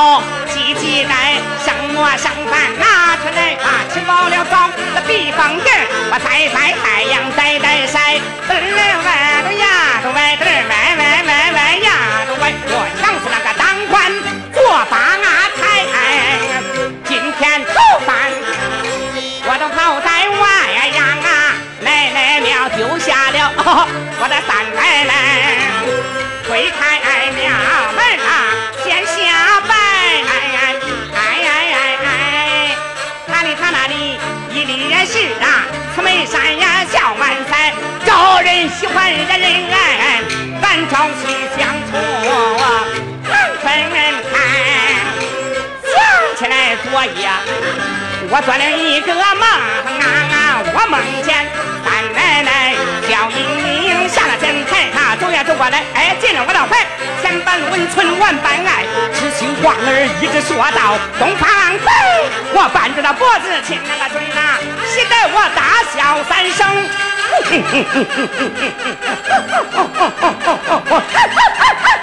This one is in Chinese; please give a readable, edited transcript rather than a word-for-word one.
哦，急急来上我上饭拿出来啊，吃饱了早那地方地儿，我晒晒太阳晒晒晒，嘚儿歪着呀都歪嘚儿歪呀都歪，我像是那个当官做法啊太今天头饭我都跑在外洋啊，奶奶庙丢下了我的三奶奶，推开庙门啊，先下拜，他里他那里一里也是啊，慈眉山呀笑满腮，招人喜欢人爱，咱朝夕相处分开。想起来昨夜我做了一个梦啊，我梦见三奶奶笑盈盈下了真台，她走呀走过来，哎，进了我的怀，千般温存万般爱，痴心妄儿一直说到东方北，我伴着那脖子亲那个嘴呐，喜得我大笑三声。